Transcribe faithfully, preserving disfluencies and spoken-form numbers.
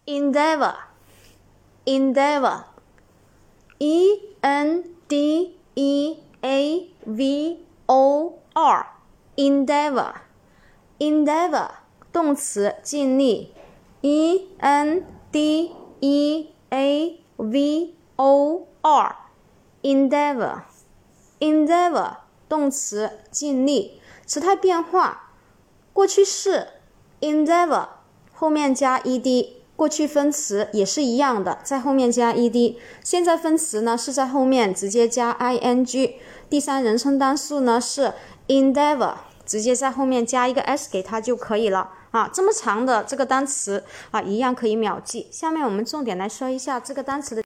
endeavor endeavor e n d e a v o r endeavor endeavor 动词尽力 e n d e a v o r endeavor endeavor 动词尽力。时态变化，过去式 endeavor 后面加 ed， 过去分词也是一样的，在后面加 ed。 现在分词呢是在后面直接加 ing。 第三人称单数呢是 endeavor， 直接在后面加一个 s 给它就可以了啊。这么长的这个单词啊，一样可以秒记。下面我们重点来说一下这个单词的